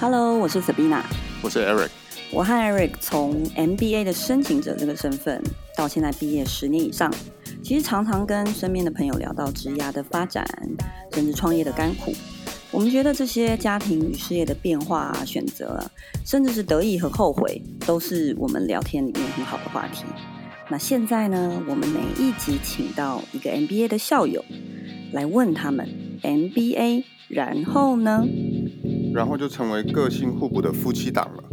Hello， 我是 Sabina， 我是 Eric。 我和 Eric 从 MBA 的申请者这个身份，到现在毕业10年以上，其实常常跟身边的朋友聊到职涯的发展，甚至创业的甘苦。我们觉得这些家庭与事业的变化选择，甚至是得意和后悔，都是我们聊天里面很好的话题。那现在呢，我们每一集请到一个 MBA 的校友，来问他们 MBA 然后呢？ 然后就成为个性互补的夫妻档了。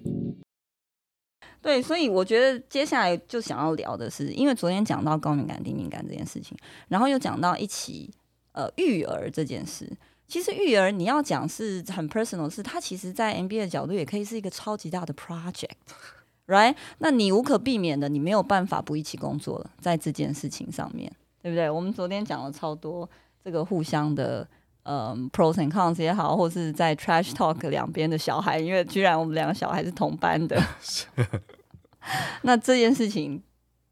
对，所以我觉得接下来就想要聊的是，因为昨天讲到高敏感、低敏感这件事情，然后又讲到一起育儿这件事。其实育儿你要讲是很 personal， 是它其实在 MBA 的角度也可以是一个超级大的 project，right？ 那你无可避免的，你没有办法不一起工作了，在这件事情上面，对不对？我们昨天讲了超多这个互相的pros and cons 也好，或是在 trash talk 两边的小孩，因为居然我们两个小孩是同班的。那这件事情，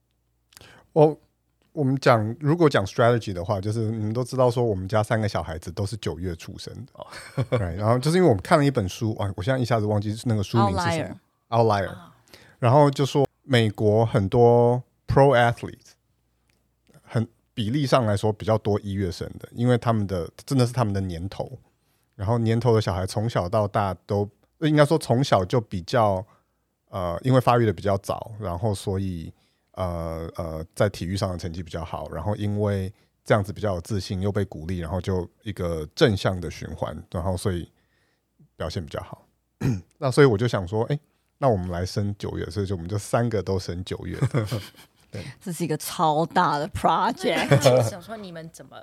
我们讲，如果讲 strategy 的话，就是你们都知道说，我们家3个小孩子都是9月出生的，right？ 然后就是因为我们看了一本书，我现在一下子忘记那个书名是什么 ，Outlier， 然后就说美国很多 pro athlete， 比例上来说比较多1月生的，因为他们的真的是他们的年头，然后年头的小孩从小到大都应该说从小就比较因为发育的比较早，然后所以在体育上的成绩比较好，然后因为这样子比较有自信，又被鼓励，然后就一个正向的循环，然后所以表现比较好。那所以我就想说，那我们来生9月，所以就我们就3个都生9月的。对， 这是一个超大的 project。 我想说你们怎么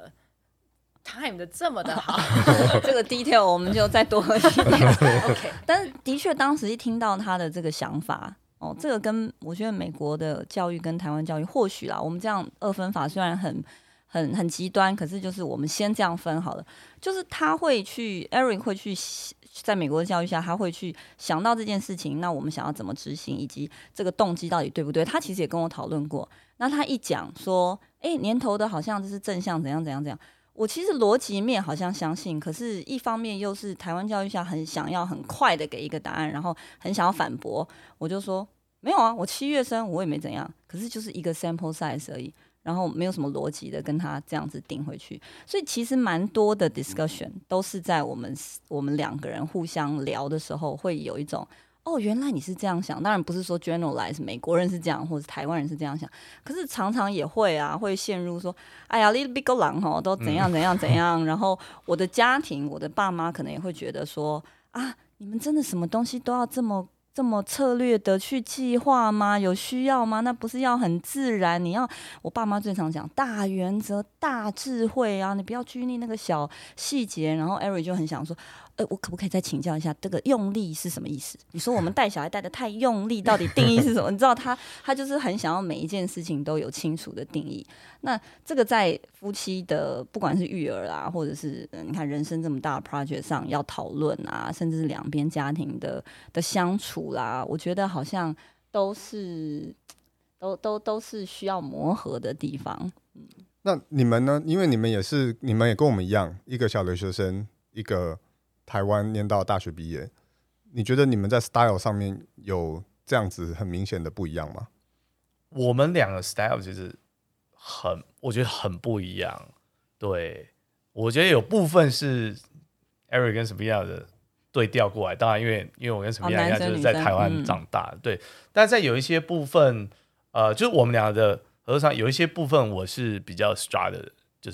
time 的这么的好？ 这个 detail 我们就再多一点。OK， 但是的确当时一听到他的这个想法。这个跟我觉得美国的教育跟台湾教育或许啦，我们这样2分法虽然很极端，可是就是我们先这样分好了。就是他会去 Eric 会去在美国的教育下，他会去想到这件事情，那我们想要怎么执行，以及这个动机到底对不对？他其实也跟我讨论过。那他一讲说，年头的好像就是正向怎样怎样怎样。我其实逻辑面好像相信，可是一方面又是台湾教育下很想要很快的给一个答案，然后很想要反驳。我就说没有啊，我7月生，我也没怎样，可是就是一个 sample size 而已，然后没有什么逻辑的跟他这样子顶回去。所以其实蛮多的 discussion 都是在我们2个人互相聊的时候，会有一种原来你是这样想。当然不是说 generalize 美国人是这样，或者台湾人是这样想，可是常常也会会陷入说，哎呀 little big 狗狼都怎样怎样怎样。然后我的家庭，我的爸妈可能也会觉得说，你们真的什么东西都要这么策略的去计划吗？有需要吗？那不是要很自然？我爸妈最常讲大原则、大智慧啊，你不要拘泥那个小细节。然后 Eric 就很想说，我可不可以再请教一下，这个用力是什么意思？你说我们带小孩带得太用力，到底定义是什么？你知道他就是很想要每一件事情都有清楚的定义。那这个在夫妻的不管是育儿啊，或者是你看人生这么大的 project 上要讨论啊，甚至是两边家庭的相处啦，我觉得好像都是需要磨合的地方。 那你们呢？因为你们也跟我们一样，一个小留学生，一个台湾念到大学毕业。你觉得你们在 style 上面有这样子很明显的不一样吗？ 我们2个 style 其实我觉得很不一样。对，我觉得有部分是 Eric 跟 Sabina 的对调过来，当然因为我跟 Sabina 一样就是在台湾长大，对。但在有一些部分，就是我们2个的合作上有一些部分我是比较 strategize，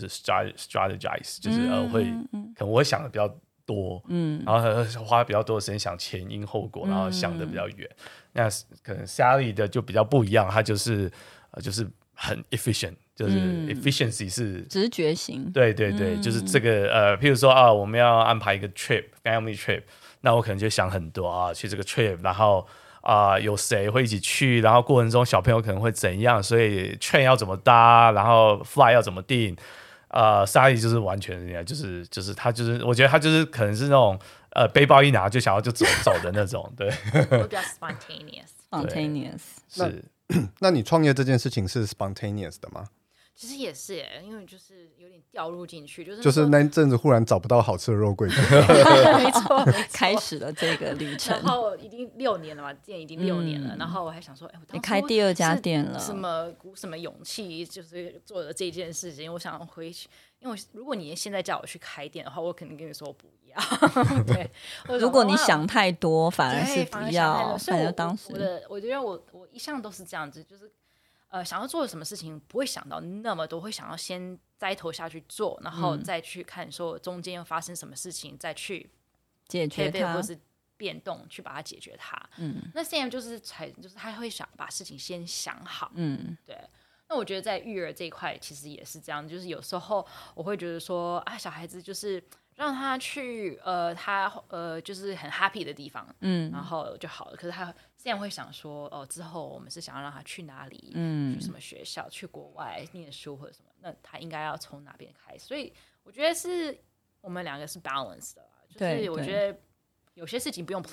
就是可能我会想的比较多，然后花比较多的时间想前因后果，然后想的比较远。那可能 Sally 的就比较不一样，他就是很 efficient， 就是 efficiency 是直觉型。 对对对，就是这个譬如说我们要安排一个 family trip， 那我可能就想很多去这个 trip， 然后有谁会一起去，然后过程中小朋友可能会怎样，所以 train 要怎么搭，然后 fly 要怎么订。沙莉就是完全就是他就是我觉得他就是可能是那种背包一拿就想要就走的那种，对。 我比较 spontaneous。 是。 那你创业这件事情是 spontaneous 的吗？ 其实也是耶，因为就是有点掉入进去， 就是那一阵子忽然找不到好吃的肉桂卷， 没错， 开始了这个旅程。 然后已经6年了嘛，店已经6年了，然后我还想说，我当初你开第2家店了， 鼓什么勇气，就是做了这件事情。我想回去，因为如果你现在叫我去开店的话，我肯定跟你说我不要。对， 如果你想太多，反而是不要。反正当时我觉得我一向都是这样子，就是。想要做什么事情不会想到那么多，会想要先栽头下去做，然后再去看说中间又发生什么事情，再去解决它， 或是变动去把它解决它。那 Sam 就是他会想把事情先想好。对。那我觉得在育儿这一块其实也是这样，就是有时候我会觉得说啊，小孩子就是让他去就是很 happy 的地方，然后就好了。可是他现在会想说，之后我们是想要让他去哪里，去什么学校，去国外念书或者什么，那他应该要从哪边开始？所以我觉得是我们2个是 balance 的啦，就是我觉得有些事情不用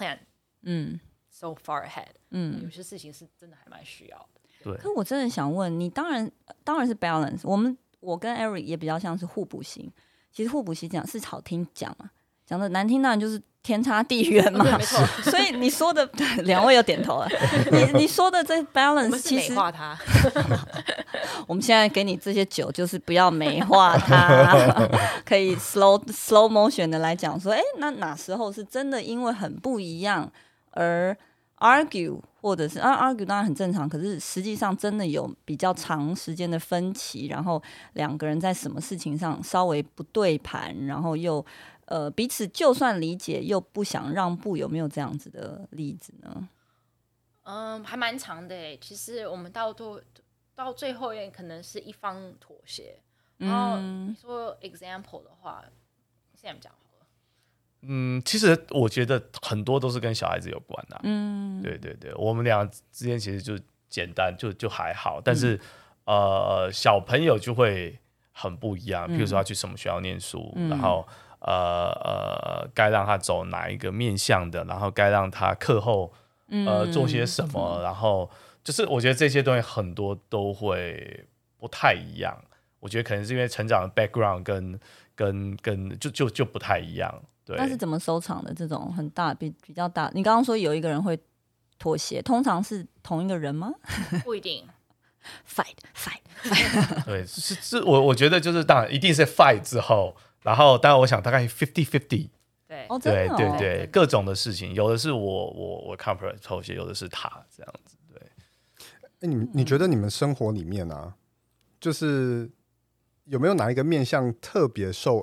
plan，so far ahead，有些事情是真的还蛮需要的。 对， 可我真的想问你，当然是 balance。我跟 Eric 也比较像是互补型。其实互补型讲是好听讲嘛，讲的难听当然就是天差地远嘛。 没错。 所以你说的2位又点头了。你说的这 balance 其实美化它。 我们现在给你这些酒，就是不要美化它，可以 slow motion 的来讲说，那哪时候是真的因为很不一样而 argue， 或者是argue 当然很正常，可是实际上真的有比较长时间的分歧，然后2个人在什么事情上稍微不对盘，然后又彼此就算理解又不想让步，有没有这样子的例子呢？ 还蛮长的耶。其实我们到最后也可能是一方妥协。然后你说 example 的话，现在讲好了。 其实我觉得很多都是跟小孩子有关的。对对对，我们俩之间其实就简单，就还好，但是小朋友就会很不一样。比如说他去什么学校念书，然后该让他走哪一个面向的，然后该让他课后做些什么，然后就是我觉得这些东西很多都会不太一样。我觉得可能是因为成长的 background 跟就不太一样。对， 那是怎么收场的？这种很大比较大，你刚刚说有一个人会妥协，通常是同一个人吗？ 不一定。 fight 对，是我觉得就是当然一定是 fight 之后，然后当然我想大概 50-50。 对， 对对对，各种的事情，有的是我 comfort 妥协，有的是他这样子。对， 你觉得你们生活里面啊，就是有没有哪一个面向特别受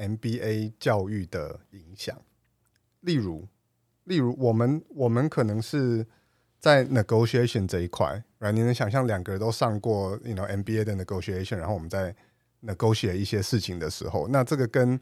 MBA 教育的影响？例如我们可能是在 negotiation 这一块，你能想象2个人都上过MBA 的 negotiation， 然后我们在 negotiate 一些事情的时候，那这个跟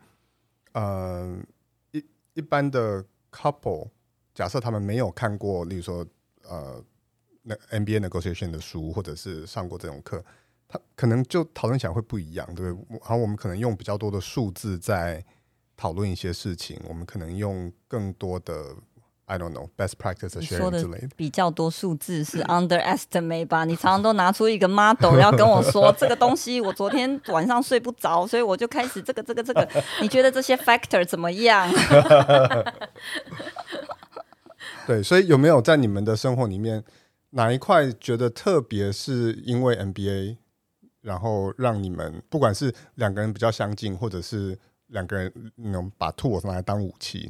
一般的 couple， 假设他们没有看过例如说MBA negotiation 的书，或者是上过这种课，他可能就讨论起来会不一样，对不对？然后我们可能用比较多的数字在讨论一些事情，我们可能用更多的 I don't know best practice 的 sharing 之类的。 比较多数字是 underestimate 吧？你常常都拿出一个 model 要跟我说这个东西，我昨天晚上睡不着，所以我就开始这个。你觉得这些 factor 怎么样？ 对，所以有没有在你们的生活里面哪一块觉得特别是因为 MBA， 然后让你们不管是2个人比较相近，或者是2个人把 tools 拿来当武器？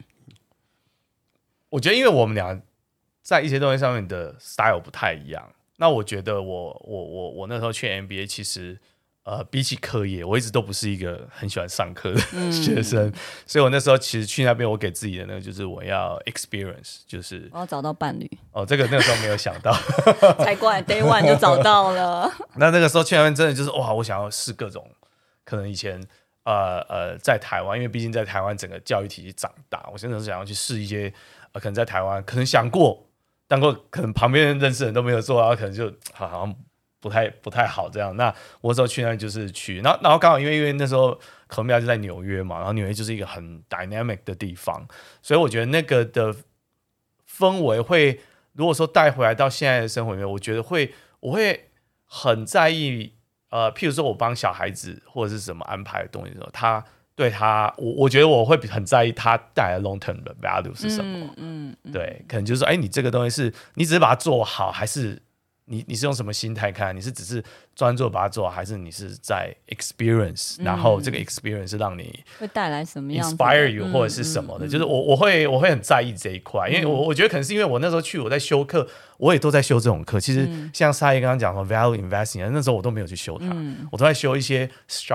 我觉得因为我们俩在一些东西上面的 style 不太一样，那我觉得我那时候去 MBA 其实比起课业，我一直都不是一个很喜欢上课的学生，所以我那时候其实去那边，我给自己的那个就是我要 experience， 就是我要找到伴侣。 这个那个时候没有想到， 才怪 day one 就找到了。 那个时候去那边真的就是哇，我想要试各种可能以前在台湾，因为毕竟在台湾整个教育体系长大，我真的是想要去试一些可能在台湾可能想过，但可能旁边认识的人都没有做，然后可能就好像不太好这样。那我那时候去那就是去，然后刚好因为那时候科米亚就在纽约嘛，然后纽约就是一个很 dynamic 的地方，所以我觉得那个的氛围会，如果说带回来到现在的生活里面，我觉得我会很在意譬如说我帮小孩子或者是什么安排的东西的时候，他对他，我觉得我会很在意他带来 long term 的 value 是什么。对，可能就是说，你这个东西是你只是把它做好，还是你是用什么心态看？你是只是专注把它做好，还是你是在 experience？然后这个 experience 是让你会带来什么样 inspire you 或者是什么的？就是我会很在意这一块，因为我觉得可能是因为我那时候去我在修课，我也都在修这种课。其实像沙耶刚刚讲说 value investing， 那时候我都没有去修它，我都在修一些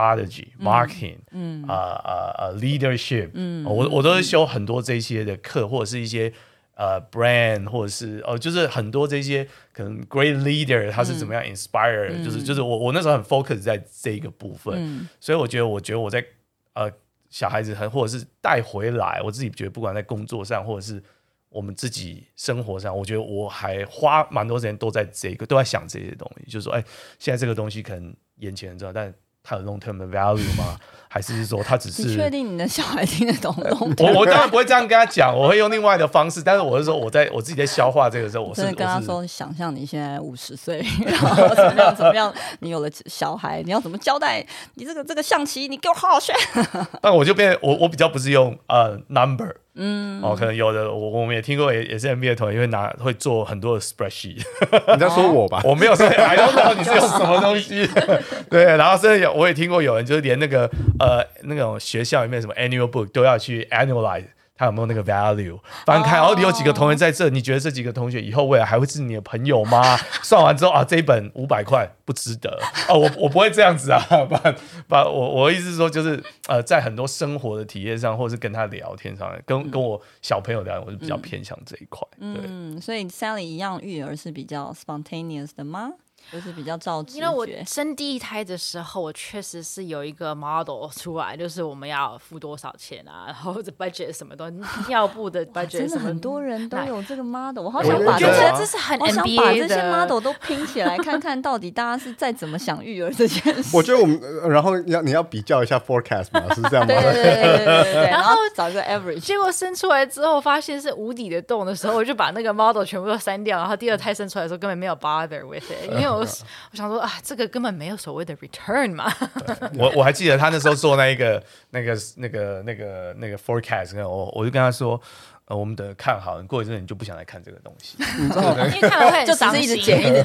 strategy、marketing、leadership，我都是修很多这些的课，或者是一些。brand 或者是就是很多这些可能 great leader 他是怎么样 inspire，就是我那时候很 focus 在这一个部分，所以我觉得我在小孩子或者是带回来，我自己觉得不管在工作上或者是我们自己生活上，我觉得我还花蛮多时间都在想这些东西，就是说现在这个东西可能眼前很重要，但它有 long term 的 value 吗？还是说他只是？ 你确定你的小孩听得懂 long term？ 我当然不会这样跟他讲，我会用另外的方式。但是我是说，我自己在消化这个时候，我真的跟他说，想象你现在50岁，然后怎么样，你有了小孩，你要怎么交代？你这个象棋，你给我好好学。 但我就变，我比较不是用number。可能有的我们也听过，也是 MBA 的同学会做很多的 spreadsheet。 你在说我吧？ 我没有说，I don't know 你是用什么东西。对，然后甚至我也听过有人就是连那种学校里面什么 annual book 都要去 analyze。他有没有那个 value？ 翻开，你有几个同学在这？你觉得这几个同学以后未来还会是你的朋友吗？算完之后这一本500块不值得我不会这样子啊。我的意思是说，就是在很多生活的体验上，或者是跟他聊天上，跟我小朋友聊，我是比较偏向这一块。对， 所以 Sally 一样，育儿是比较 spontaneous 的吗？就是比较照直觉。 因为我生第一胎的时候，我确实是有一个 model 出来，就是我们要付多少钱啊，然后或者 budget 什么东西，尿布的 budget 真的很多人都有这个 model， 我好想把这是很 NBA 的， 我想把这些 model 都拼起来，看看到底大家是在怎么想育儿这件事。 我觉得我们，然后你要比较一下 forecast 嘛，是这样吗？ 对，然后找一个 average。 结果生出来之后，发现是无底的洞的时候，我就把那个 model 全部都删掉，然后第二胎生出来的时候根本没有 bother with it， 因为我想说这个根本没有所谓的 return 嘛。 我还记得他那时候做那个 forecast， 我就跟他说，我们等看好，你过一阵你就不想来看这个东西， 因为看了会很伤心， 就只是一直减。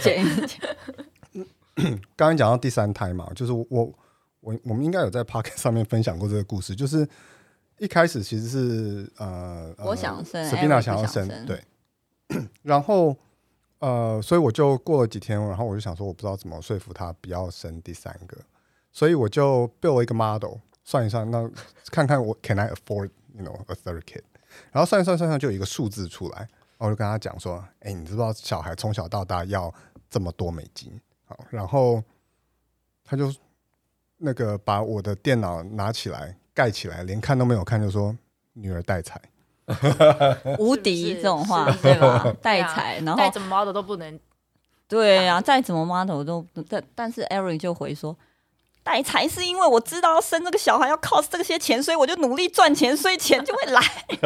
刚刚讲到第3胎嘛，就是我们应该有在 podcast 上面分享过这个故事，就是一开始其实是我想生 Sabina 想要生，对，然后。所以我就過了幾天，然後我就想說我不知道怎麼說服他不要生第3個，所以我就 build 了一個 model， 算一算，那看看我 can I afford a third kid， 然後算一算就有一個數字出來，然後我就跟他講說，你知不知道小孩從小到大要這麼多美金？好，然後他就那個把我的電腦拿起來蓋起來，連看都沒有看，就說女兒帶財。 无敌这种话对吧？带财，然后再怎么 model 都不能。 对啊，再怎么 model 都，但是 Eric 就回说，带财是因为我知道要生这个小孩要 cost 这些钱，所以我就努力赚钱，所以钱就会来。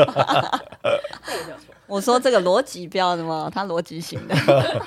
我说这个逻辑不要那么，他逻辑型的。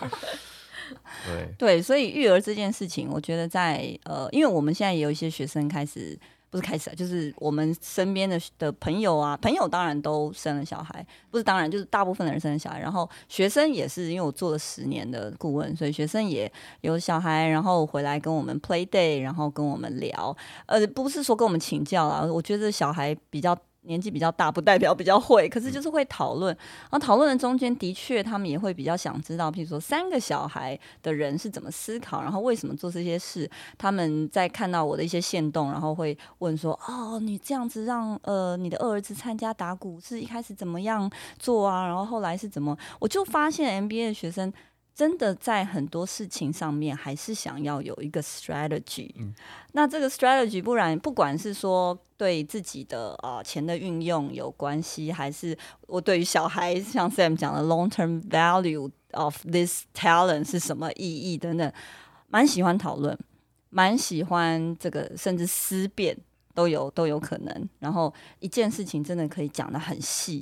对，所以育儿这件事情，我觉得在因为我们现在也有一些学生不是开始，就是我们身边的朋友啊，朋友当然都生了小孩，不是当然就是大部分的人生了小孩，然后学生也是，因为我做了10年的顾问，所以学生也有小孩，然后回来跟我们 play day， 然后跟我们聊，不是说跟我们请教啦，我觉得小孩年纪比较大不代表比较会，可是就是会讨论，然后讨论的中间的确他们也会比较想知道，譬如说3个小孩的人是怎么思考，然后为什么做这些事，他们在看到我的一些限动，然后会问说，你这样子让你的2儿子参加打鼓是一开始怎么样做啊，然后后来是怎么，我就发现 MBA 的学生真的在很多事情上面还是想要有一个 strategy，那这个 strategy 不管是说对自己的钱的运用有关系，还是我对于小孩像 Sam 讲的 long term value of this talent 是什么意义等等，蛮喜欢讨论，蛮喜欢这个，甚至思辨都有可能，然后一件事情真的可以讲得很细，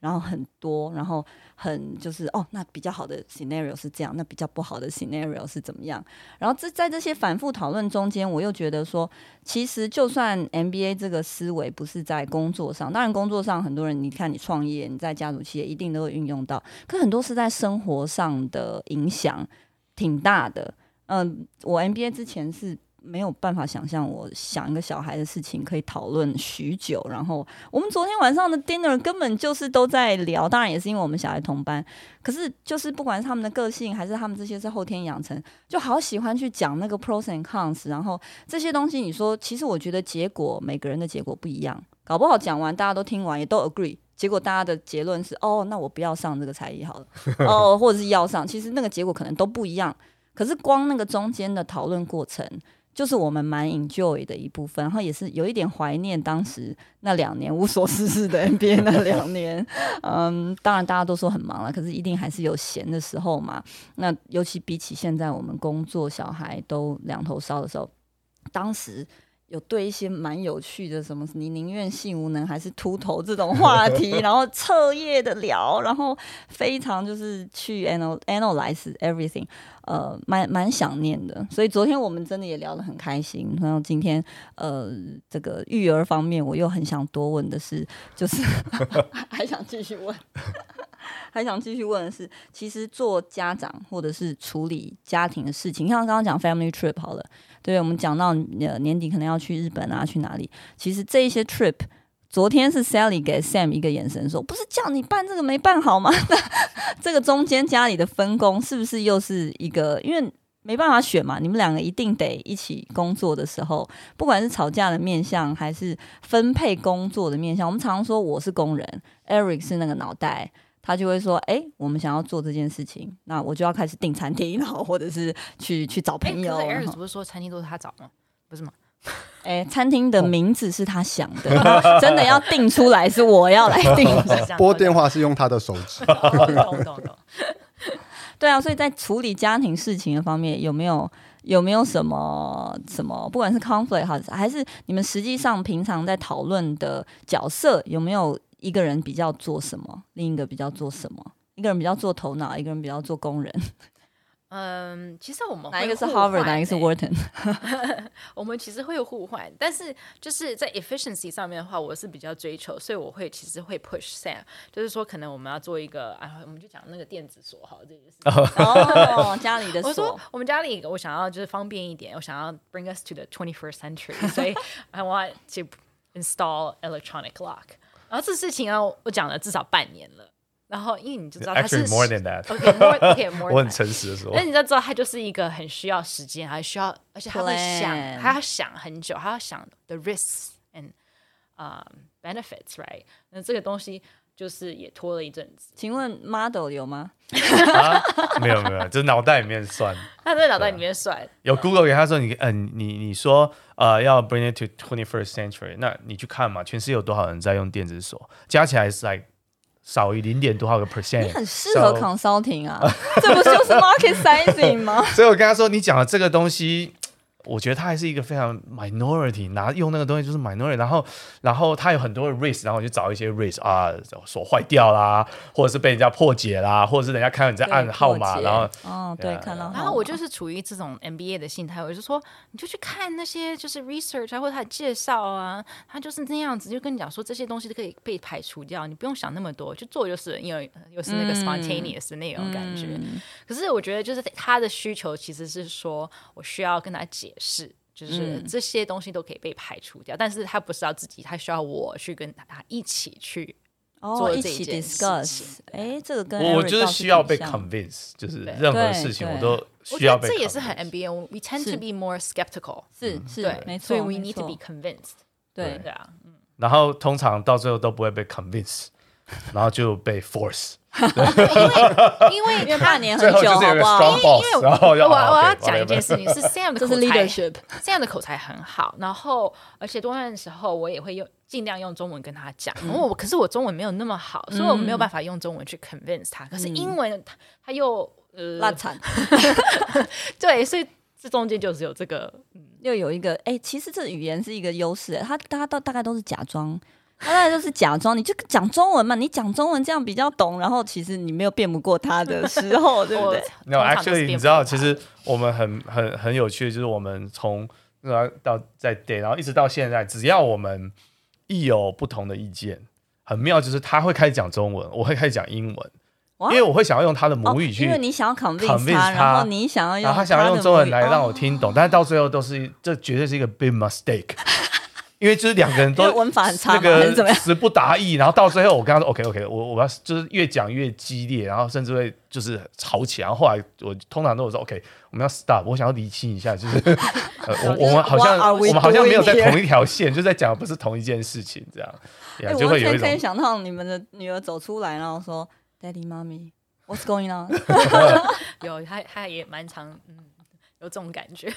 然后很多，然后很就是那比较好的 scenario 是这样，那比较不好的 scenario 是怎么样。然后在这些反复讨论中间，我又觉得说，其实就算 MBA 这个思维不是在工作上，当然工作上很多人，你看你创业，你在家族企业一定都会运用到，可很多是在生活上的影响挺大的。我 MBA 之前是没有办法想象，我想一个小孩的事情可以讨论许久。然后我们昨天晚上的 dinner 根本就是都在聊，当然也是因为我们小孩同班，可是就是不管是他们的个性还是他们这些是后天养成，就好喜欢去讲那个 pros and cons。然后这些东西你说，其实我觉得结果每个人的结果不一样，搞不好讲完大家都听完也都 agree， 结果大家的结论是那我不要上这个才艺好了或者是要上，其实那个结果可能都不一样。可是光那个中间的讨论过程，就是我们蛮 enjoy 的一部分，然后也是有一点怀念当时那2年无所事事的 MBA 那2年。当然大家都说很忙了，可是一定还是有闲的时候嘛。那尤其比起现在我们工作小孩都两头烧的时候，当时有对一些蛮有趣的什么你宁愿性无能还是秃头这种话题然后彻夜的聊，然后非常就是去 analyze everything， 蛮想念的。所以昨天我们真的也聊得很开心。然后今天这个育儿方面我又很想多问的是，就是还想继续问还想继续问的是，其实做家长或者是处理家庭的事情，像刚刚讲 family trip 好了，对，我们讲到年底可能要去日本啊，去哪里？其实这一些 trip， 昨天是 Sally 给 Sam 一个眼神说，不是叫你办这个没办好吗？这个中间家里的分工是不是又是一个，因为没办法选嘛，你们2个一定得一起工作的时候，不管是吵架的面向还是分配工作的面向，我们常说我是工人 ，Eric 是那个脑袋。他就会说，我们想要做这件事情，那我就要开始订餐厅，然后或者是去找朋友。 可是 Eric 不是说餐厅都是他找吗？不是吗？ 餐厅的名字是他想的，真的要定出来是我要来定。 拨电话是用他的手指。 懂。 对啊，所以在处理家庭事情的方面，有没有什么，不管是 conflict 还是你们实际上平常在讨论的角色，有没有一个人比较做什么，另一个比较做什么？一个人比较做头脑，一个人比较做工人。 其实我们哪一个是 Harvard， 哪一个是 Wharton？ 我们其实会互换，但是就是在 efficiency 上面的话，我是比较追求，所以我其实会 push Sam， 就是说可能我们要做一个我们就讲那个电子锁好这件事情。 家里的锁。 我说我们家里我想要就是方便一点，我想要 bring us to the 21st century， 所以 I want to install electronic lock。然后这事情我讲了至少半年了。然后因为你就知道他是 actually more than that， okay, more than 我很诚实的说， 但你知道他就是一个很需要时间，还需要，而且他会想，他要想很久，他要想 the risks and benefits，right？ 那这个东西就是也拖了一阵子。 请问 model 有吗？ 没有，就是脑袋里面算， 他在脑袋里面算。 有 Google 给他说你说要 bring it to 21st century， 那你去看嘛，全世界有多少人在用电子锁，加起来是 like。少于0.多少个 percent， 你很适合 consulting 啊，这不就是 market sizing 吗？ 所以我跟他说，你讲的这个东西，我觉得它还是一个非常 minority， 用那个东西就是 minority， 然后它有很多的 risk， 然后我就找一些 risk 锁坏掉啦，或者是被人家破解啦，或者是人家看到你在按号码，然后对，看到号码。 然后我就是处于这种 MBA 的心态，我就说你就去看那些就是 research 或者他的介绍啊，他就是那样子，就跟你讲说这些东西都可以被排除掉，你不用想那么多，就做就是因为又是那个 spontaneous 的那种感觉。可是我觉得就是他的需求其实是说我需要跟他解释，就是这些东西都可以被排除掉，但是他不是要自己，他需要我去跟他一起去做这一件事情。 这个跟我就是需要被 convince， 就是任何事情我都需要被 convince。我觉得这也是很 MBA，we tend to be more skeptical， 是没错， 所以 we need to be convinced。 对啊， 然后通常到最后都不会被 convince， 然后就被 force。 因为半年很久，好不好？ 因为我要讲一件事情，是 Sam 的口才 ，Sam 的口才很好，然后而且多半的时候我也会尽量用中文跟他讲，可是我中文没有那么好，所以我没有办法用中文去 convince 他。可是英文他又烂惨， 对，所以这中间就是有这个， 又有一个其实这语言是一个优势，他大概都是假装他那就是假装，你就讲中文嘛，你讲中文这样比较懂，然后其实你没有辩不过他的时候，对不对 ？No, actually， 你知道，其实我们很有趣的，就是我们从到在 date， 然后一直到现在，只要我们一有不同的意见，很妙，就是他会开始讲中文，我会开始讲英文。因为我会想要用他的母语去， 因为你想要 convince 他，然后你想要用， 然后他想要用中文来让我听懂，但是到最后这绝对是一个 big mistake， 因为就是两个人都文法很差， 那个词不达意，然后到最后我跟他说 OK， 我要就是越讲越激烈，然后甚至会就是吵起来，然后后来我通常都有说 OK， 我们要 stop， 我想要厘清一下，就是我们好像没有在同一条线，就在讲不是同一件事情这样，就会有一种可以想到你们的女儿走出来，然后说。Daddy, Mommy, what's going on? 有，他也蛮常，有这种感觉。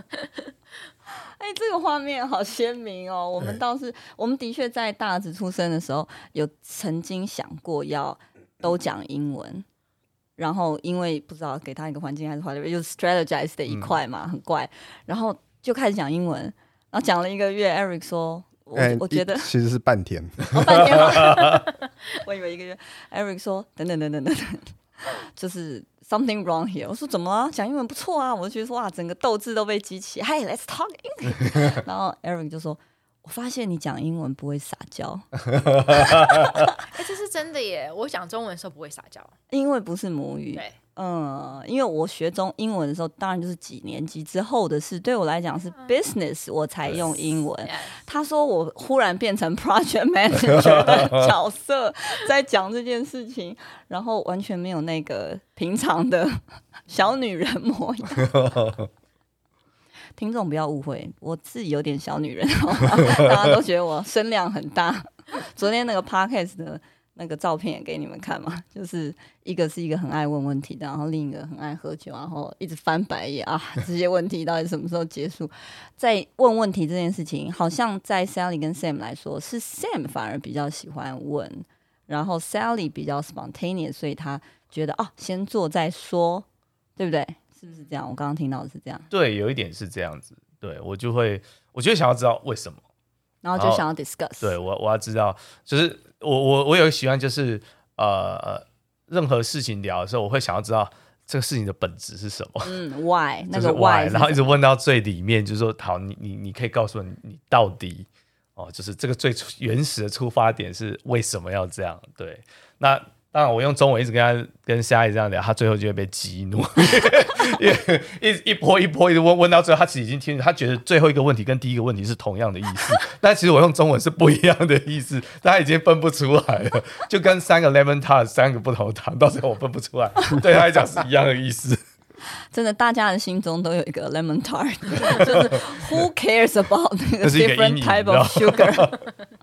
这个画面好鲜明哦。我们的确在大儿子出生的时候，有曾经想过要都讲英文，然后因为不知道给他一个环境还是whatever，就是 strategize 的一块嘛，很怪，然后就开始讲英文，然后讲了1个月 ，Eric 说。我觉得其实是半天， 半天吗？我以为1个月。Eric 说等，就是 something wrong here。我说怎么了？讲英文不错啊，我就觉得说哇，整个斗志都被激起。Hey, let's talk English。然后 Eric 就说：“我发现你讲英文不会撒娇。” 这是真的耶！我讲中文的时候不会撒娇， 因为不是母语。 对。 因为我学英文的时候，当然就是几年级之后的事。对我来讲是 business， 我才用英文。他说我忽然变成 project manager 的角色，在讲这件事情，然后完全没有那个平常的小女人模样。听众不要误会，我自己有点小女人，大家都觉得我声量很大。昨天那个 podcast 的。那个照片也给你们看嘛，就是一个是一个很爱问问题的，然后另一个很爱喝酒，然后一直翻白眼啊，这些问题到底什么时候结束？在问问题这件事情，好像在 Sally 跟 Sam 来说，是 Sam 反而比较喜欢问，然后 Sally 比较 spontaneous， 所以他觉得先做再说，对不对？是不是这样？我刚刚听到的是这样。 对，有一点是这样子。对，我就会想要知道为什么， 然后就想要 discuss。 对，我要知道，就是我有个习惯，就是任何事情聊的时候，我会想要知道这个事情的本质是什么。 why 那个 why， 然后一直问到最里面，就是说，好，你可以告诉我你到底就是这个最原始的出发点是为什么要这样？对，那当然我用中文一直跟夏怡这样聊，他最后就会被激怒，因为一波一直问到最后，他其实已经听，他觉得最后一个问题跟第一个问题是同样的意思，但其实我用中文是不一样的意思，他已经分不出来了，就跟3个 lemon tart 3个不同的糖，到最后我分不出来，对他来讲是一样的意思。 真的，大家的心中都有一个 lemon tart， 就是 who cares about 那个 different type of sugar。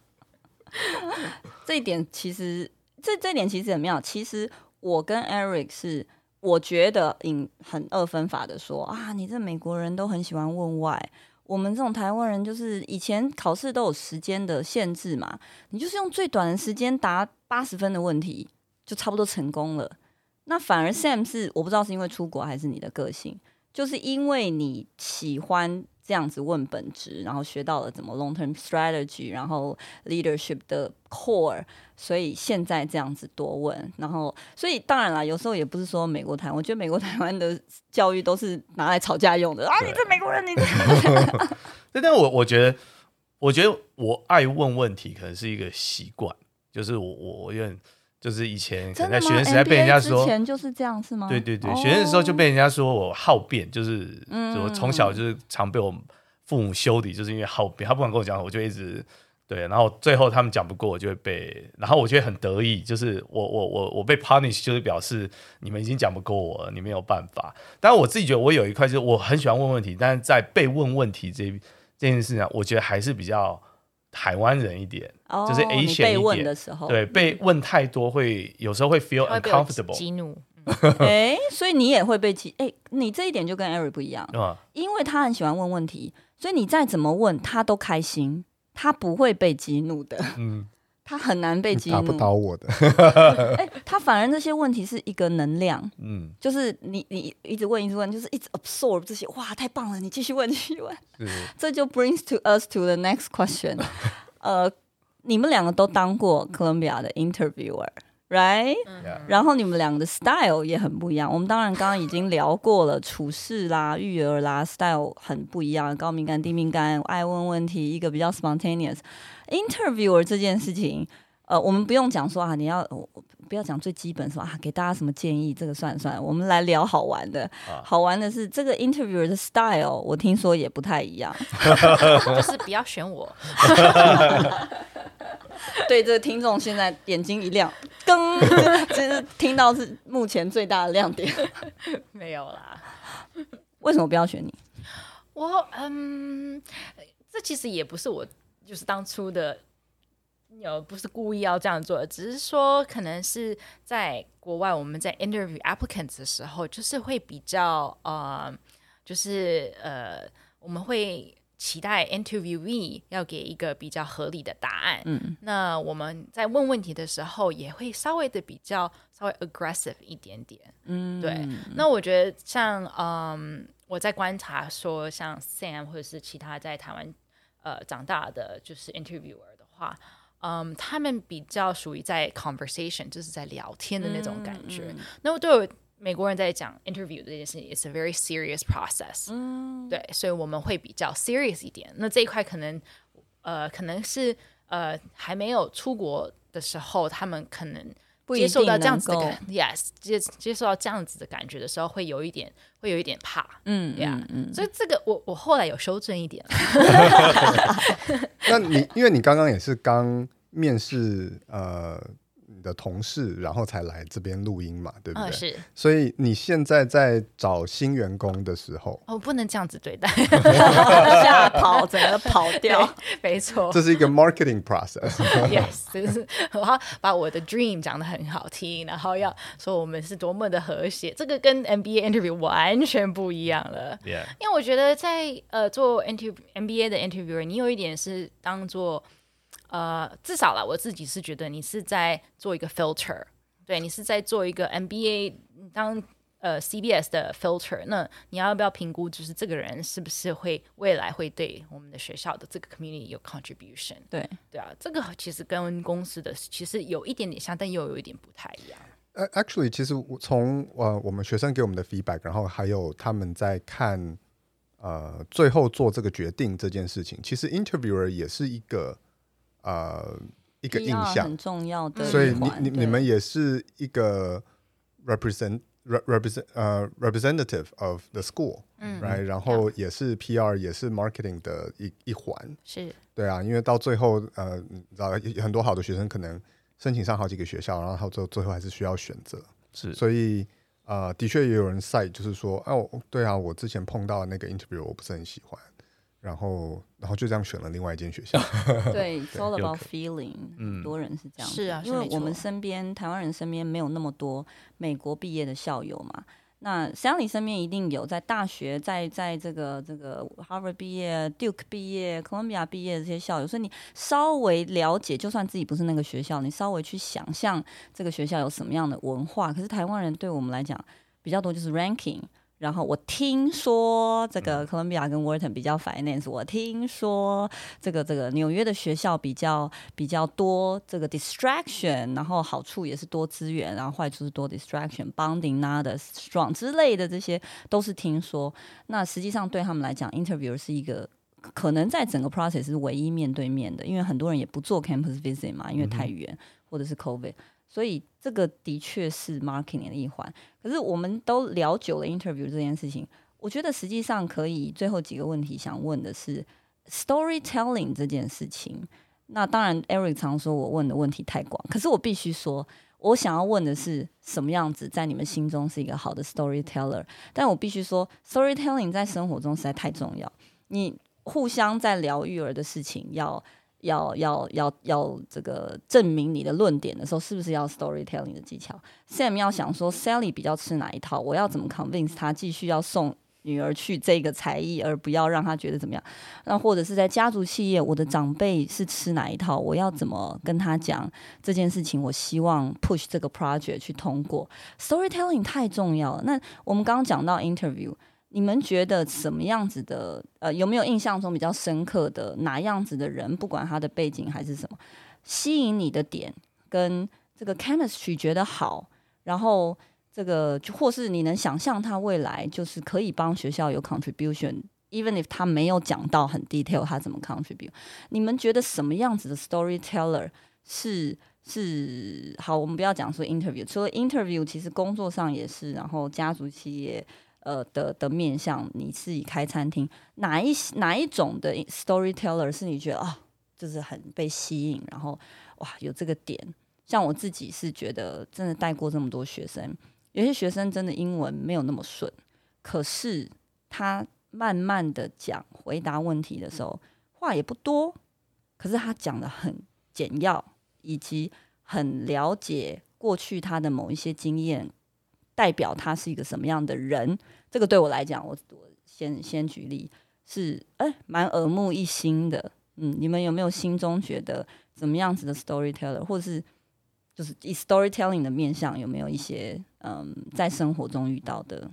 这一点其实很妙。其实我跟 Eric 是，我觉得很二分法的说啊，你这美国人都很喜欢问 why， 我们这种台湾人就是以前考试都有时间的限制嘛，你就是用最短的时间答80分的问题，就差不多成功了。那反而 Sam 是我不知道是因为出国还是你的个性，就是因为你喜欢这样子问本质，然后学到了怎么 long term strategy， 然后 leadership 的 core， 所以现在这样子多问，然后所以当然啦，有时候也不是说美国台湾，我觉得美国台湾的教育都是拿来吵架用的啊！你这美国人，你这但我觉得我爱问问题可能是一个习惯，就是我有点。就是以前可能在学生时代被人家说， 之前就是这样是吗？ 对，学生的时候就被人家说我好辩，就是我从小就是常被我父母修理，就是因为好辩，他不管跟我讲，我就一直对，然后最后他们讲不过我就会被，然后我就会很得意，就是我被 punish， 就是表示你们已经讲不过我了，你没有办法。当然我自己觉得我有一块就是我很喜欢问问题，但是在被问问题这件事上，我觉得还是比较台湾人一点，就是 Asian 一点。 被问的时候， 对，被问太多有时候会 feel uncomfortable， 激怒。 所以你也会被激。你这一点就跟 Eric 不一样，因为他很喜欢问问题，所以你再怎么问他都开心，他不会被激怒的。他很难被激怒， 打不倒我的。 他反而这些问题是一个能量，就是你一直问，就是一直 absorb 这些，哇，太棒了，你继续问，这就 brings to us to the next question。 你们两个都当过哥伦比亚的 interviewer。Right，然后你们两个的 style 也很不一样。我们当然刚刚已经聊过了，处事啦、育儿啦 ，style 很不一样，高敏感、低敏感，爱问问题，一个比较 spontaneous。interviewer 这件事情，我们不用讲说啊，你要不要讲最基本说啊，给大家什么建议？这个算了，我们来聊好玩的。好玩的是这个 interviewer 的 style， 我听说也不太一样， 就是不要选我。 对，这个听众现在眼睛一亮，就是听到是目前最大的亮点。 没有啦， 为什么不要选你？ 这其实也不是我就是当初的，不是故意要这样做的，只是说可能是在国外我们在 interview applicants 的时候，就是会比较我们会期待 interviewee 要给一个比较合理的答案。那我们在问问题的时候也会稍微 aggressive 一点点。对。那我觉得像我在观察说像 Sam 或者是其他在台湾长大的就是 interviewer 的话，他们比较属于在 conversation， 就是在聊天的那种感觉。那对我美国人在讲 interview 这件事情 ，it's a very serious process。对，所以我们会比较 serious 一点。那这一块可能是还没有出国的时候，他们可能接受到这样子的感 ，yes， 接受到这样子的感觉的时候，会有一点怕。所以这个我后来有修正一点。 那因为你刚刚也是刚面试你的同事，然后才来这边录音嘛，对不对？ 是。 所以你现在在找新员工的时候， 不能这样子对待， 吓跑，整个跑掉。 没错， 这是一个 marketing process。 Yes， 就是我要把我的 dream 讲得很好听，然后要说我们是多么的和谐，这个跟 MBA interview 完全不一样了。因为我觉得在做 MBA 的 interviewer， 你有一点是当做至少啦，我自己是觉得你是在做一个 filter， 对，你是在做一个 MBA 当CBS 的 filter， 那你要不要评估就是这个人是不是未来会对我们的学校的这个 community 有 contribution？ 对啊，这个其实跟公司的其实有一点点像，但又有一点不太一样。 Actually， 其实从我们学生给我们的 feedback， 然后还有他们在看最后做这个决定这件事情，其实 interviewer 也是一个印象很重要的， 所以你们也是一个 representative of the school，right？ 然后也是 PR， 也是 marketing 的一环， 是， 对啊，因为到最后你知道很多好的学生可能申请上好几个学校，然后最后还是需要选择， 是， 所以的确也有人cite就是说，对啊，我之前碰到的那个 interview 我不是很喜欢。然后就这样选了另外一间学校。 对，it's all about feeling。很多人是这样子， 是啊， 因为我们身边台湾人身边没有那么多美国毕业的校友嘛。那 Sally 身边一定有在大学，在这个 Harvard 毕业、Duke 毕业、Columbia 毕业的这些校友，所以你稍微了解，就算自己不是那个学校，你稍微去想象这个学校有什么样的文化。可是台湾人对我们来讲比较多就是 ranking。然后我听说这个哥伦比亚跟 Wharton 比较 finance， 我听说这个纽约的学校比较多这个 distraction， 然后好处也是多资源，然后坏处是多 distraction，bonding not as strong 之类的，这些都是听说。那实际上对他们来讲 ，interview 是一个可能在整个 process 是唯一面对面的，因为很多人也不做 campus visit 嘛，因为太远或者是 COVID。所以这个的确是 marketing 的一环，可是我们都聊久了 interview 这件事情，我觉得实际上可以最后几个问题想问的是 storytelling 这件事情。那当然 Eric 常说我问的问题太广，可是我必须说我想要问的是什么样子在你们心中是一个好的 storyteller， 但我必须说 storytelling 在生活中实在太重要，你互相在聊育儿的事情要这个证明你的论点的时候，是不是要 storytelling 的技巧 ？Sam 要想说 Sally 比较吃哪一套，我要怎么 convince 他继续要送女儿去这个才艺，而不要让他觉得怎么样？那或者是在家族企业，我的长辈是吃哪一套，我要怎么跟他讲这件事情？我希望 push 这个 project 去通过 storytelling 太重要了。那我们刚刚讲到 interview。 你们觉得什么样子的有没有印象中比较深刻的哪样子的人，不管他的背景还是什么，吸引你的点跟这个 chemistry 觉得好，然后这个或是你能想象他未来就是可以帮学校有 contribution，even if 他没有讲到很 detail 他怎么 contribute， 你们觉得什么样子的 storyteller 是好？我们不要讲说 interview， 除了 interview， 其实工作上也是，然后家族企业的面向，你自己开餐厅，哪一种的 storyteller 是你觉得就是很被吸引，然后哇有这个点？像我自己是觉得，真的带过这么多学生，有些学生真的英文没有那么顺，可是他慢慢的讲回答问题的时候，话也不多，可是他讲的很简要，以及很了解过去他的某一些经验，代表他是一个什么样的人。这个对我来讲，我先举例是蛮耳目一新的。你们有没有心中觉得怎么样子的 storyteller， 或者是就是以 storytelling 的面向，有没有一些在生活中遇到的？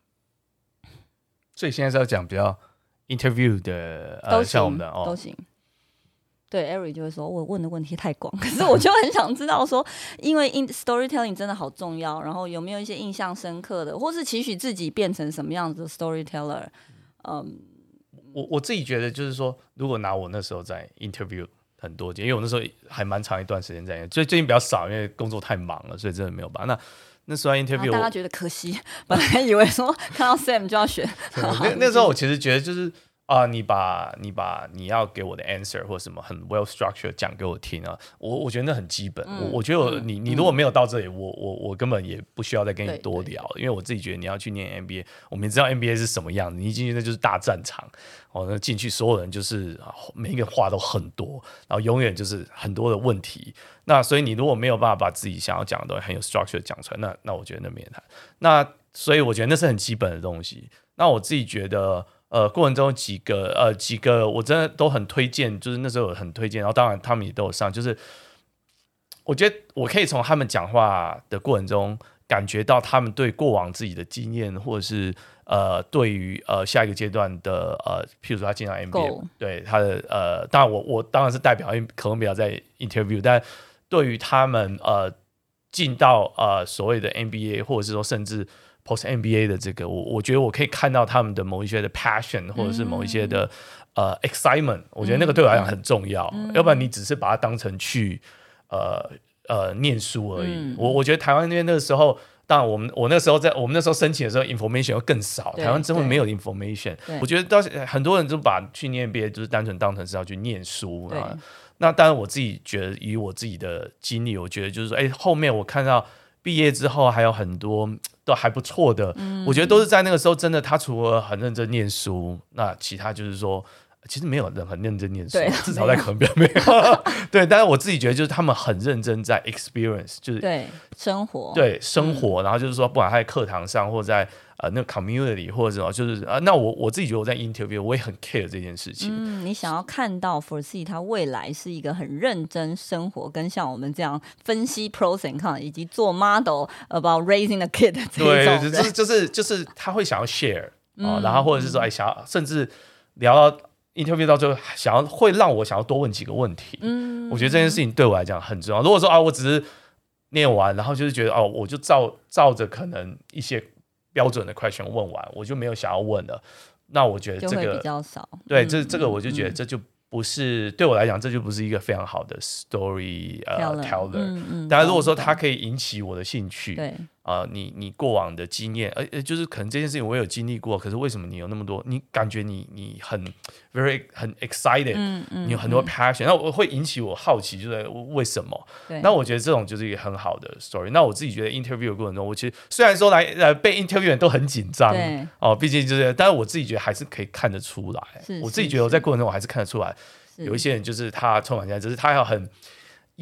所以现在是要讲比较 interview 的像我们的都行。对 Eric 就会说我问的问题太广，可是我就很想知道说，因为 storytelling 真的好重要，然后有没有一些印象深刻的，或是期许自己变成什么样子的 storyteller？ 我自己觉得就是说，如果拿我那时候在 interview 很多间，因为我那时候还蛮长一段时间在，最近比较少，因为工作太忙了，所以真的没有办法。那时候 interview 大家觉得可惜，本来以为说看到 Sam 就要选。 那时候我其实觉得就是你把你要给我的 answer 或什么很 well structured 讲给我听啊，我觉得那很基本。我觉得你如果没有到这里，我根本也不需要再跟你多聊，因为我自己觉得你要去念 MBA， 我们知道 MBA 是什么样子，你一进去那就是大战场那进去所有人就是每一个话都很多，然后永远就是很多的问题。那所以你如果没有办法把自己想要讲的东西很有 structure 讲出来，那我觉得那没谈。那所以我觉得那是很基本的东西。那我自己觉得过程中几个我真的都很推荐，就是那时候很推荐，然后当然他们也都有上，就是我觉得我可以从他们讲话的过程中感觉到他们对过往自己的经验，或者是对于下一个阶段的譬如说他进到 MBA， 对他的当然我当然是代表可能比较在 interview， 但对于他们进到所谓的 MBA， 或者是说甚至Post MBA 的这个，我觉得我可以看到他们的某一些的 passion， 或者是某一些的excitement， 我觉得那个对我来讲很重要。要不然你只是把它当成去念书而已。我觉得台湾那边那个时候，当然我们那时候申请的时候 information 又更少，台湾真的没有 information。我觉得很多人就把去念 MBA 就是单纯当成是要去念书啊。那当然我自己觉得，以我自己的经历，我觉得就是说，后面我看到毕业之后还有很多都还不错的，我觉得都是在那个时候真的，他除了很认真念书，那其他就是说其实没有人很认真念书，至少在课表没有对，但是我自己觉得就是他们很认真在 experience， 就是对生活， 然后就是说不管他在课堂上或者在那个 community 或者什么，就是那我自己觉得我在 interview 我也很 care 这件事情。 你想要看到 foresee 他未来是一个很认真生活，跟像我们这样分析 pros and cons， 以及做 model about raising the kid 这一种人， 对，就是他会想要 share 然后或者是说想要甚至聊到 interview 到最后会让我想要多问几个问题。我觉得这件事情对我来讲很重要。如果说我只是念完，然后就是觉得我就照着可能一些标准的 question 问完，我就没有想要问了。那我觉得这个就会比较少。 对，这个我就觉得这就不是对我来讲，这就不是一个非常好的 story teller。当然，如果说它可以引起我的兴趣， 对你过往的经验，就是可能这件事情我有经历过，可是为什么你有那么多？你感觉你很 很 excited，你有很多 passion，那我会引起我好奇，就是为什么？那我觉得这种就是一个很好的 story。那我自己觉得 interview 的过程中，我其实虽然说来被 interview 人都很紧张，毕竟就是，但是我自己觉得还是可以看得出来。我自己觉得我在过程中我还是看得出来，有一些人就是他充满期待，只是他要很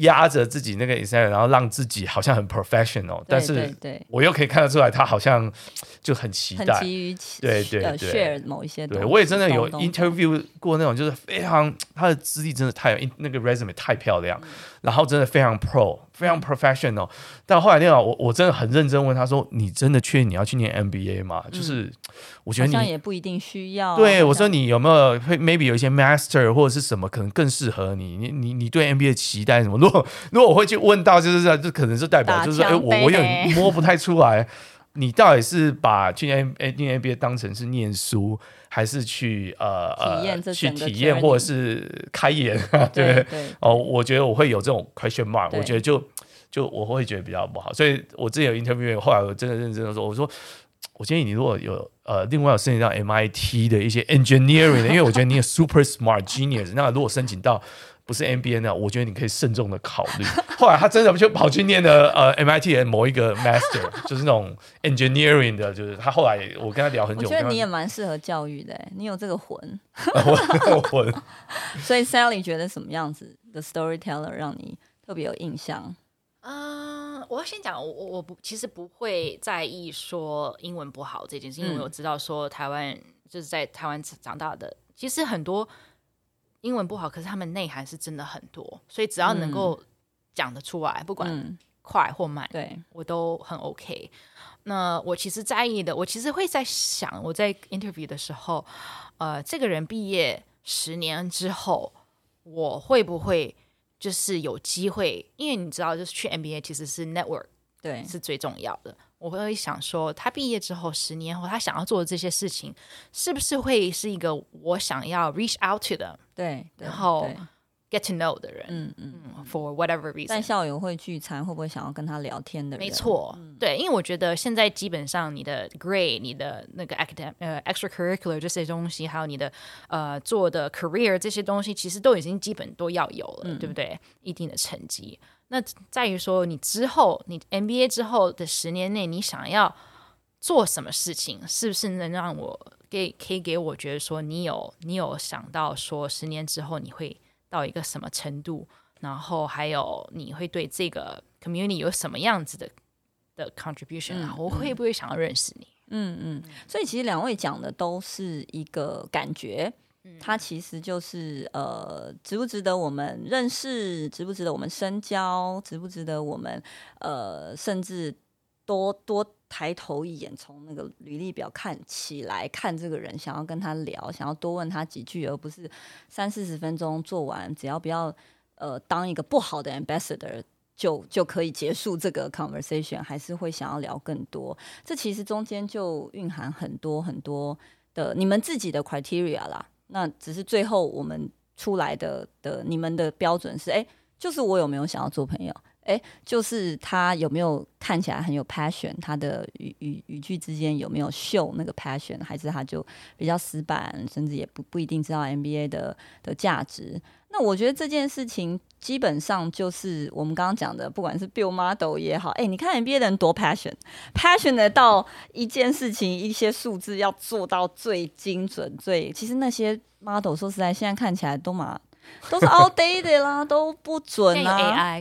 压着自己那个 Excel， 然后让自己好像很 professional， 但是我又可以看得出来他好像就很期待， 很急于对 share 某一些东西。 对，我也真的有 interview 过那种，就是非常他的资历真的那个 resume 太漂亮，然后真的非常 pro， 非常 professional。但后来那个我真的很认真问他说：“你真的确定你要去念 MBA 吗？”就是我觉得你好像也不一定需要。 对，我说你有没有 maybe 有一些 master 或者是什么可能更适合你？你对 MBA 期待什么？如果我会去问到，就是就可能是代表就是我有点摸不太出来，你到底是把去念 MBA 当成是念书，还是去体验或者是开眼？对我觉得我会有这种 question mark， 我觉得就我会觉得比较不好，所以我之前有 interview， 后来我真的认真的说，我说我建议你如果有另外有申请到 MIT 的一些 engineering 的，因为我觉得你也 super smart genius， 那如果申请到不是 MBA 呢，我觉得你可以慎重的考虑。后来他真的就跑去念了MIT 的某一个 master， 就是那种 engineering 的，就是他后来我跟他聊很久， 我觉得你也蛮适合教育的，你有这个魂。 魂。 所以 Sally 觉得什么样子的 storyteller 让你特别有印象？ 我要先讲，我其实不会在意说英文不好这件事，因为我知道说台湾就是在台湾长大的，其实很多英文不好，可是他们内涵是真的很多，所以只要能够讲得出来，不管快或慢，对我都很 OK。那我其实在意的，我其实会在想，我在 interview 的时候，这个人毕业10年之后，我会不会就是有机会？因为你知道，就是去 MBA 其实是 network， 对，是最重要的。我会想说，他毕业之后10年后，他想要做的这些事情，是不是会是一个我想要 reach out to 的，对，然后 get to know 的人，for whatever reason。 但校友会聚餐，会不会想要跟他聊天的人？ 没错，对，因为我觉得现在基本上你的 grade、你的那个extracurricular 这些东西，还有你的做的 career 这些东西，其实都已经基本都要有了，对不对？一定的成绩。那在于说，你之后，你 MBA 之后的10年内，你想要做什么事情，是不是能让我可以给我觉得说，你有想到说10年之后你会到一个什么程度，然后还有你会对这个 community 有什么样子的 contribution，我会不会想要认识你？ 所以其实两位讲的都是一个感觉。它其实就是值不值得我们认识，值不值得我们深交，值不值得我们甚至多抬头一眼，从那个履历表看起来看这个人，想要跟他聊，想要多问他几句，而不是30-40分钟做完，只要不要当一个不好的 ambassador 就可以结束这个 conversation， 还是会想要聊更多。这其实中间就蕴含很多很多的你们自己的 criteria 啦。那只是最后我们出来的你们的标准是，就是我有没有想要做朋友，就是他有没有看起来很有 passion， 他的语句之间有没有秀那个 passion， 还是他就比较死板，甚至也不一定知道 MBA 的价值。那我觉得这件事情基本上就是我们刚刚讲的，不管是 build model 也好，你看 MBA 的人多 passion 的到一件事情一些数字要做到最精准，其实那些 model 说实在现在看起来都是 outdated 啦，都不准啦。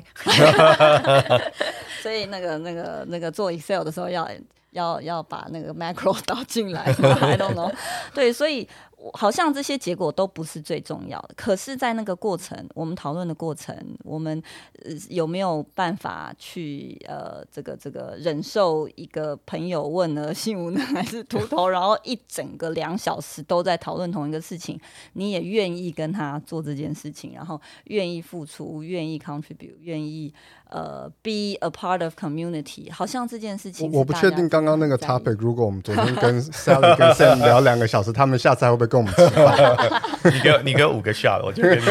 AI 所以那个做 Excel 的时候要把那个 macro 导进来I don't know 对，所以好像这些结果都不是最重要的，可是在那个过程，我们讨论的过程，我们有没有办法去这个忍受一个朋友问了性无能还是秃头，然后一整个2小时都在讨论同一个事情，你也愿意跟他做这件事情，然后愿意付出，愿意 contribute， 愿意be a part of community， 好像这件事情我不确定刚刚那个 topic， 如果我们昨天跟 Sally 跟 Sam 聊2个小时，他们下次还会不会跟我们吃饭？ 你给我5个 shot， 我就给你。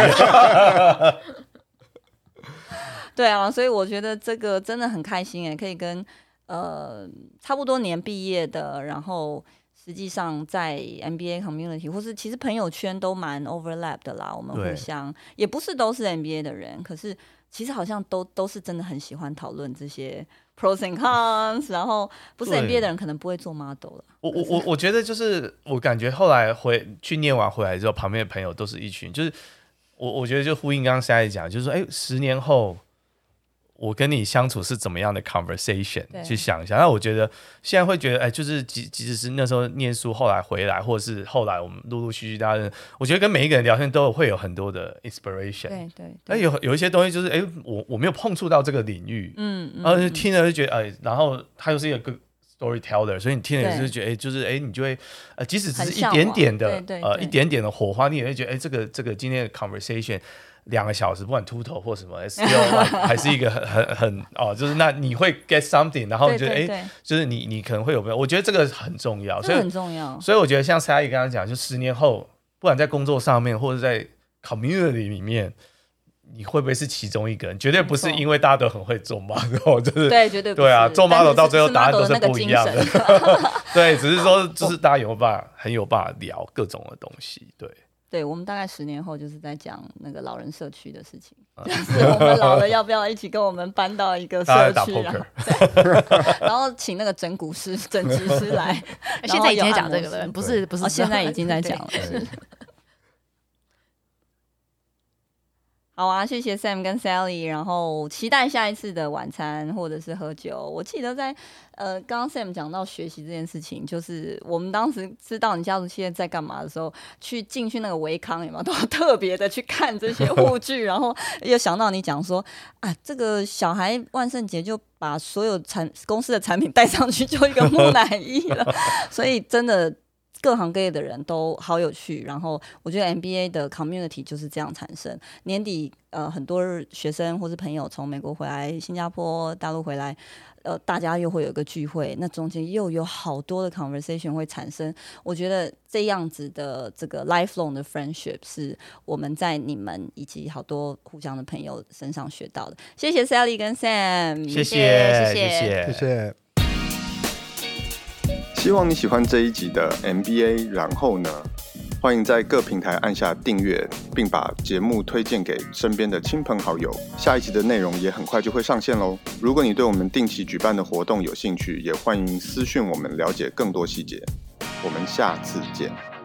对啊，所以我觉得这个真的很开心可以跟差不多年毕业的，然后实际上在 MBA community 或是其实朋友圈都蛮 overlap 的啦，我们互相也不是都是 MBA 的人，可是其实好像都是真的很喜欢讨论这些 pros and cons， 然后不是 MBA 的人可能不会做 model 了。 我觉得就是我感觉后来去念完回来之后，旁边的朋友都是一群，就是我觉得就呼应刚刚Sally讲，就是说10年后我跟你相处是怎么样的 conversation 去想一下。那我觉得现在会觉得，就是即使是那时候念书，后来回来，或者是后来我们陆陆续续大家，我觉得跟每一个人聊天都会有很多的 inspiration。 对。 那有一些东西就是，我没有碰触到这个领域，然后就听了就觉得，然后他又是一个 storyteller， 所以你听了就是觉得，就是你就会，即使只是一点点的，一点点的火花，你也会觉得，这个今天的 conversation。2个小时，不管秃头或什么 ，still 还是一个很就是那你会 get something， 然后你觉得就是你可能会有没有？我觉得这个很重要， 这很重要。 所以我觉得像 Sally 刚刚讲，就10年后，不管在工作上面或者在 community 里面，你会不会是其中一个人？绝对不是因为大家都很会做 model， 就是对，绝对不是。 对啊，做 model 到最后答案都是不一样的。对，只是说就是大家很有办法聊各种的东西， 对，我们大概10年后就是在讲那个老人社区的事情，就是我们老了要不要一起跟我们搬到一个社区，然后请那个整骨师、整脊师来。 现在已经在讲这个了，不是， 现在已经在讲了。好啊，谢谢 Sam 跟 Sally， 然后期待下一次的晚餐或者是喝酒。我记得在刚刚 Sam 讲到学习这件事情，就是我们当时知道你家族企业在干嘛的时候，进去那个维康有没有都要特别的去看这些护具，然后又想到你讲说啊，这个小孩万圣节就把所有公司的产品带上去，就一个木乃伊了，所以真的。各行各业的人都好有趣，然后我觉得 MBA 的 community 就是这样产生。年底很多学生或是朋友从美国回来、新加坡、大陆回来，大家又会有一个聚会，那中间又有好多的 conversation 会产生。我觉得这样子的这个 lifelong 的 friendship 是我们在你们以及好多互相的朋友身上学到的。谢谢 Sally 跟 Sam， 谢谢。 希望你喜欢这一集的 MBA， 然后呢，欢迎在各平台按下订阅，并把节目推荐给身边的亲朋好友。下一集的内容也很快就会上线咯。如果你对我们定期举办的活动有兴趣，也欢迎私讯我们了解更多细节。我们下次见。